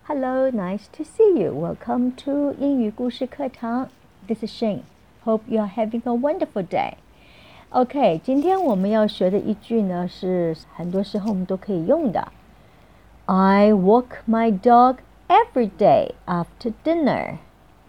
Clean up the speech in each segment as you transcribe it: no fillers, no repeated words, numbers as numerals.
Hello, nice to see you. Welcome to 英语故事课堂。This is Shane. Hope you are having a wonderful day. OK， 今天我们要学的一句呢，是很多时候我们都可以用的。I walk my dog every day after dinner.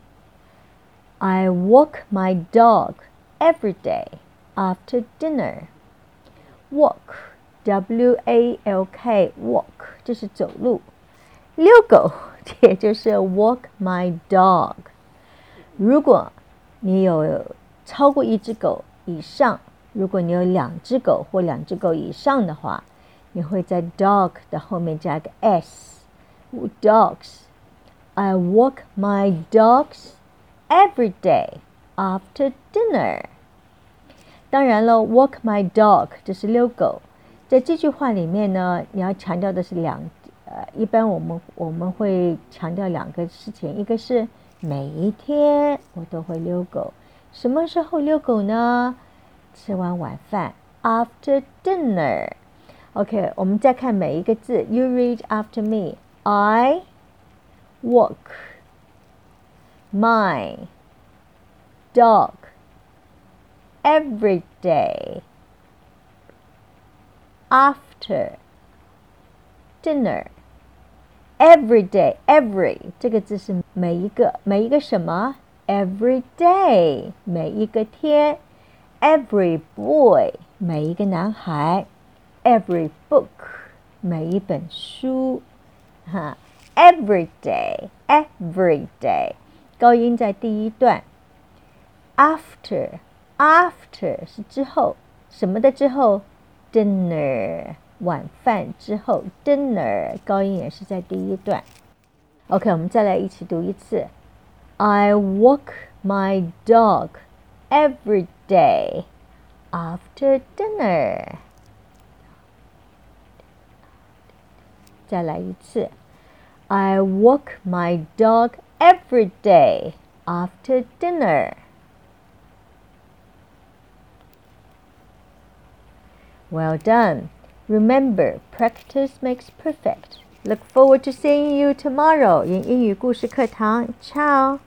I walk my dog every day after dinner. Walk, W-A-L-K, walk 就是走路。遛狗也就是 walk my dog。 如果你有超过一只狗以上，如果你有两只狗或两只狗以上的话，你会在 dog 的后面加个 s， dogs。 I walk my dogs every day after dinner。 当然了 walk my dog 就是遛狗，在这句话里面呢，你要强调的是一般我们会强调两个事情，一个是每一天我都会遛狗，什么时候遛狗呢？吃完晚饭 after dinner。 OK， 我们再看每一个字 You read after me. I walk my dog every day after dinner. Every day, every 这个字是每一个什么 every day 每一个天， every boy 每一个男孩， every book 每一本书every day, every day 高音在第一段。 after 是之后，什么的之后？ dinner晚饭之后， dinner 高音也是在第一段。 OK， 我们再来一起读一次。 I walk my dog every day after dinner。 再来一次。 I walk my dog every day after dinner。 Well done.Remember, practice makes perfect. Look forward to seeing you tomorrow in 英语故事课堂。Ciao!